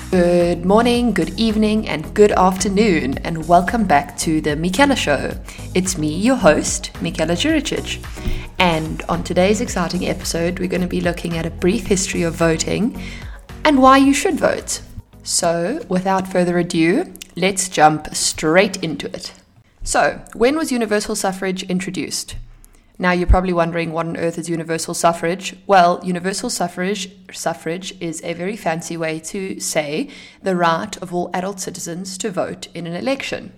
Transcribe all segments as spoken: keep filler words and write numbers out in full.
Good morning, good evening, and good afternoon, and welcome back to the Michela Show. It's me, your host, Michela Juricic, and on today's exciting episode, we're going to be looking at a brief history of voting and why you should vote. So, without further ado, let's jump straight into it. So, when was universal suffrage introduced? Now you're probably wondering, what on earth is universal suffrage? Well, universal suffrage suffrage is a very fancy way to say the right of all adult citizens to vote in an election.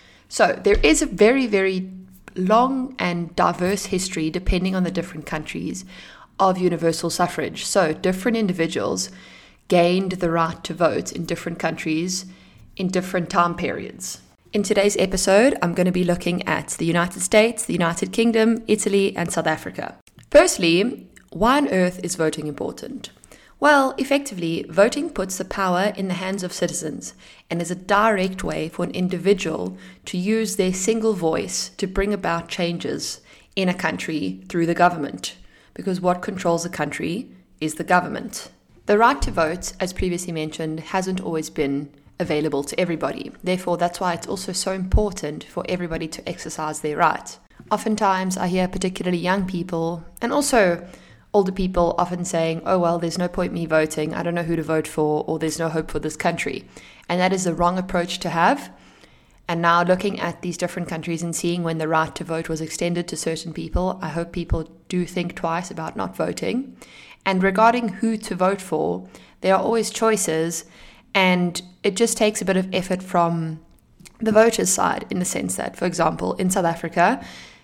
So there is a very, very long and diverse history, depending on the different countries, of universal suffrage. So different individuals gained the right to vote in different countries in different time periods. In today's episode, I'm going to be looking at the United States, the United Kingdom, Italy, and South Africa. Firstly, why on earth is voting important? Well, effectively, voting puts the power in the hands of citizens and is a direct way for an individual to use their single voice to bring about changes in a country through the government, because what controls a country is the government. The right to vote, as previously mentioned, hasn't always been available to everybody. Therefore, that's why it's also so important for everybody to exercise their right. Oftentimes, I hear particularly young people and also older people often saying, oh, well, there's no point me voting. I don't know who to vote for, or there's no hope for this country. And that is the wrong approach to have. And now looking at these different countries and seeing when the right to vote was extended to certain people, I hope people do think twice about not voting. And regarding who to vote for, there are always choices. And it just takes a bit of effort from the voters' side, in the sense that, for example, in South Africa,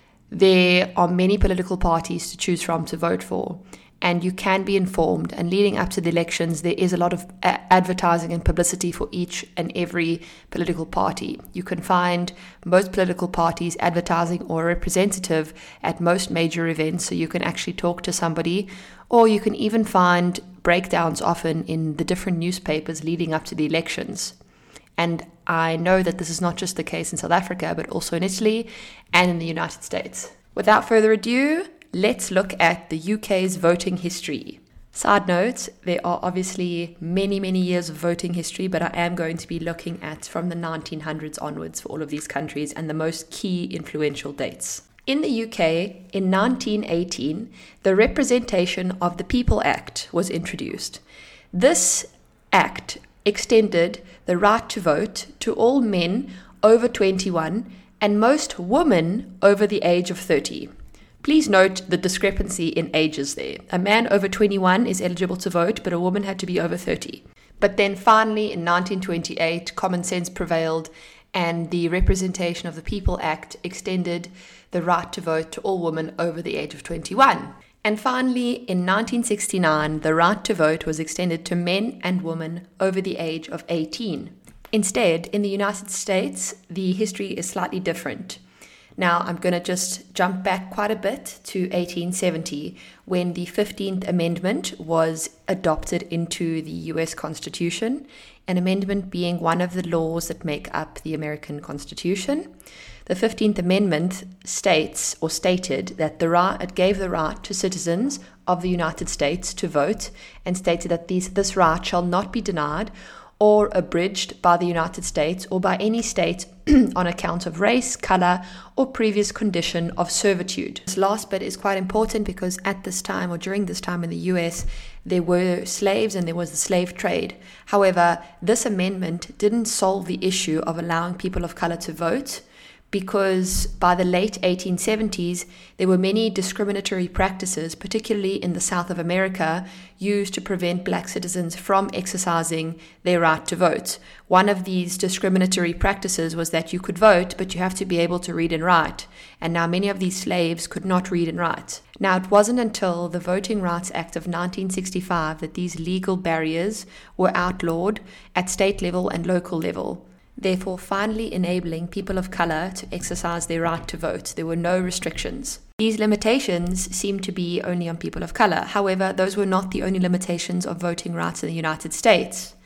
there are many political parties to choose from to vote for, and you can be informed. And leading up to the elections, there is a lot of a- advertising and publicity for each and every political party. You can find most political parties advertising or a representative at most major events, so you can actually talk to somebody, or you can even find breakdowns often in the different newspapers leading up to the elections. And I know that this is not just the case in South Africa, but also in Italy and in the United States. Without further ado, let's look at the U K's voting history. Side note, there are obviously many, many years of voting history, but I am going to be looking at from the nineteen hundreds onwards for all of these countries and the most key influential dates. In the U K, in nineteen eighteen, the Representation of the People Act was introduced. This act extended the right to vote to all men over twenty-one and most women over the age of thirty. Please note the discrepancy in ages there. A man over twenty-one is eligible to vote, but a woman had to be over thirty. But then finally, in nineteen twenty-eight, common sense prevailed, and the Representation of the People Act extended the right to vote to all women over the age of twenty-one. And finally, in nineteen sixty-nine, the right to vote was extended to men and women over the age of eighteen. Instead, in the United States, the history is slightly different. Now, I'm going to just jump back quite a bit to eighteen seventy, when the fifteenth Amendment was adopted into the U S Constitution, an amendment being one of the laws that make up the American Constitution. The fifteenth Amendment states or stated that the right, it gave the right to citizens of the United States to vote, and stated that these, this right shall not be denied or abridged by the United States or by any state on account of race, color, or previous condition of servitude. This last bit is quite important because at this time, or during this time in the U S, there were slaves and there was the slave trade. However, this amendment didn't solve the issue of allowing people of color to vote, because by the late eighteen seventies, there were many discriminatory practices, particularly in the South of America, used to prevent black citizens from exercising their right to vote. One of these discriminatory practices was that you could vote, but you have to be able to read and write. And now many of these slaves could not read and write. Now, it wasn't until the Voting Rights Act of nineteen sixty-five that these legal barriers were outlawed at state level and local level, therefore finally enabling people of color to exercise their right to vote. There were no restrictions. These limitations seem to be only on people of color. However, those were not the only limitations of voting rights in the United States.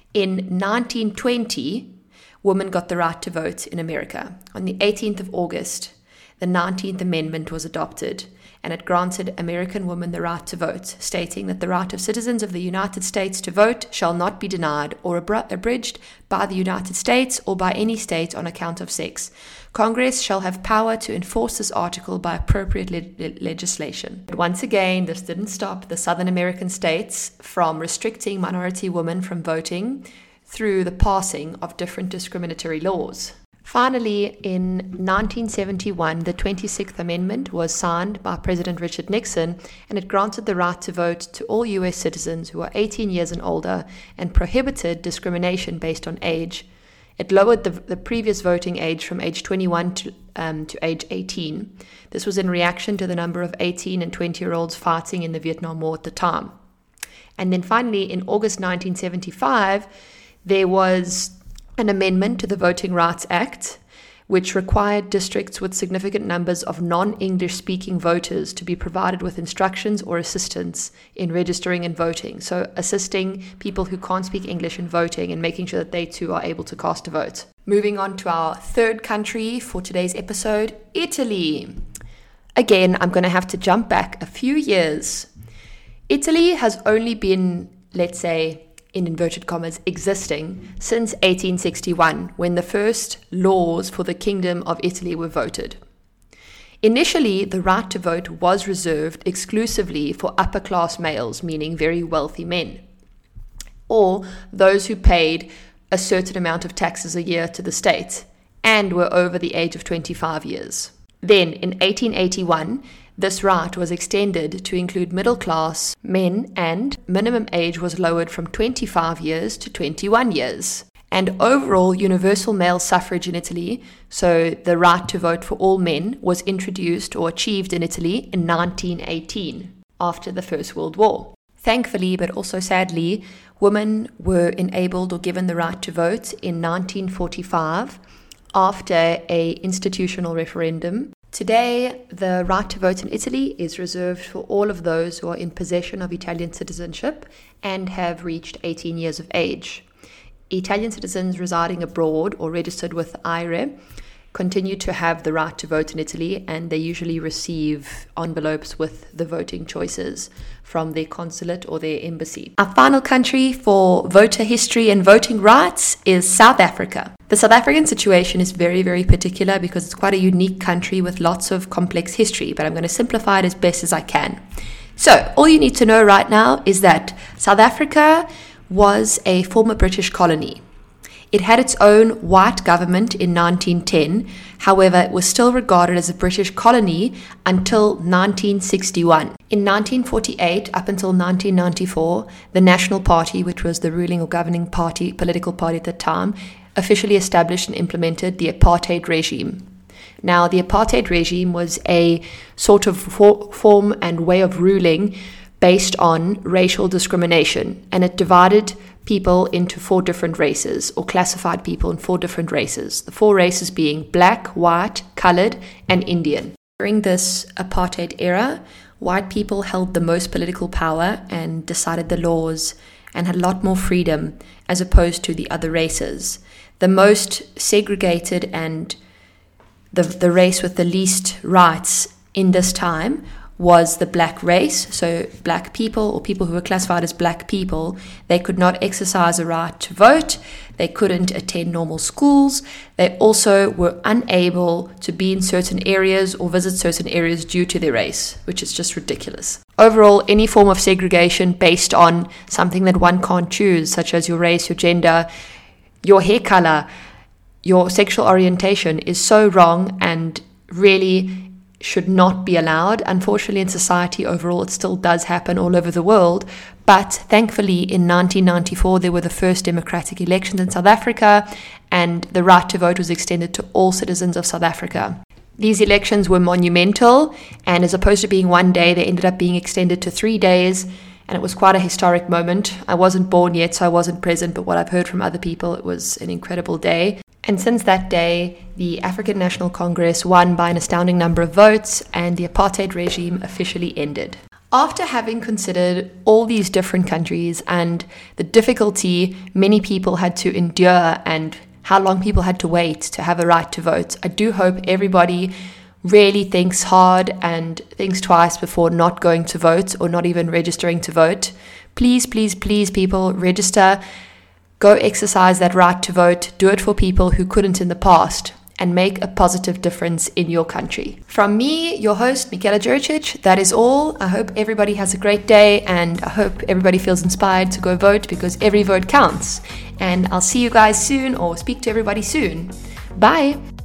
In nineteen twenty, women got the right to vote in America. On the eighteenth of August, the nineteenth Amendment was adopted, and it granted American women the right to vote, stating that the right of citizens of the United States to vote shall not be denied or abr- abridged by the United States or by any state on account of sex. Congress shall have power to enforce this article by appropriate le- legislation. But once again, this didn't stop the Southern American states from restricting minority women from voting through the passing of different discriminatory laws. Finally, in nineteen seventy-one, the twenty-sixth Amendment was signed by President Richard Nixon, and it granted the right to vote to all U S citizens who are eighteen years and older and prohibited discrimination based on age. It lowered the, the previous voting age from age twenty-one to, um, to age eighteen. This was in reaction to the number of eighteen and twenty-year-olds fighting in the Vietnam War at the time. And then finally, in August nineteen seventy-five, there was an amendment to the Voting Rights Act, which required districts with significant numbers of non-English speaking voters to be provided with instructions or assistance in registering and voting. So assisting people who can't speak English in voting and making sure that they too are able to cast a vote. Moving on to our third country for today's episode, Italy. Again, I'm going to have to jump back a few years. Italy has only been, let's say, in inverted commas, existing since eighteen sixty-one, when the first laws for the Kingdom of Italy were voted. Initially, the right to vote was reserved exclusively for upper-class males, meaning very wealthy men, or those who paid a certain amount of taxes a year to the state and were over the age of twenty-five years. Then, in eighteen eighty-one, this right was extended to include middle-class men, and minimum age was lowered from twenty-five years to twenty-one years. And overall, universal male suffrage in Italy, so the right to vote for all men, was introduced or achieved in Italy in nineteen eighteen, after the First World War. Thankfully, but also sadly, women were enabled or given the right to vote in nineteen forty-five after an institutional referendum. Today, the right to vote in Italy is reserved for all of those who are in possession of Italian citizenship and have reached eighteen years of age. Italian citizens residing abroad or registered with I R E continue to have the right to vote in Italy, and they usually receive envelopes with the voting choices from their consulate or their embassy. Our final country for voter history and voting rights is South Africa. The South African situation is very, very particular because it's quite a unique country with lots of complex history, but I'm going to simplify it as best as I can. So, all you need to know right now is that South Africa was a former British colony. It had its own white government in nineteen ten, however, it was still regarded as a British colony until nineteen sixty-one. In nineteen forty-eight, up until nineteen ninety-four, the National Party, which was the ruling or governing party, political party at the time, officially established and implemented the apartheid regime. Now, the apartheid regime was a sort of for- form and way of ruling based on racial discrimination, and it divided people into four different races, or classified people in four different races. The four races being black, white, colored, and Indian. During this apartheid era, white people held the most political power and decided the laws and had a lot more freedom as opposed to the other races. The most segregated and the, the race with the least rights in this time was the black race. So black people, or people who were classified as black people, they could not exercise a right to vote, they couldn't attend normal schools, they also were unable to be in certain areas or visit certain areas due to their race, which is just ridiculous. Overall, any form of segregation based on something that one can't choose, such as your race, your gender, your hair color, your sexual orientation, is so wrong and really should not be allowed. Unfortunately, in society overall, it still does happen all over the world. But thankfully, in nineteen ninety-four, there were the first democratic elections in South Africa, and the right to vote was extended to all citizens of South Africa. These elections were monumental, and as opposed to being one day, they ended up being extended to three days, and it was quite a historic moment. I wasn't born yet, so I wasn't present, but what I've heard from other people, it was an incredible day. And since that day, the African National Congress won by an astounding number of votes, and the apartheid regime officially ended. After having considered all these different countries and the difficulty many people had to endure and how long people had to wait to have a right to vote, I do hope everybody really thinks hard and thinks twice before not going to vote or not even registering to vote, please, please, please, people, register. Go exercise that right to vote. Do it for people who couldn't in the past, and make a positive difference in your country. From me, your host, Michaela Juricic, that is all. I hope everybody has a great day, and I hope everybody feels inspired to go vote, because every vote counts. And I'll see you guys soon, or speak to everybody soon. Bye!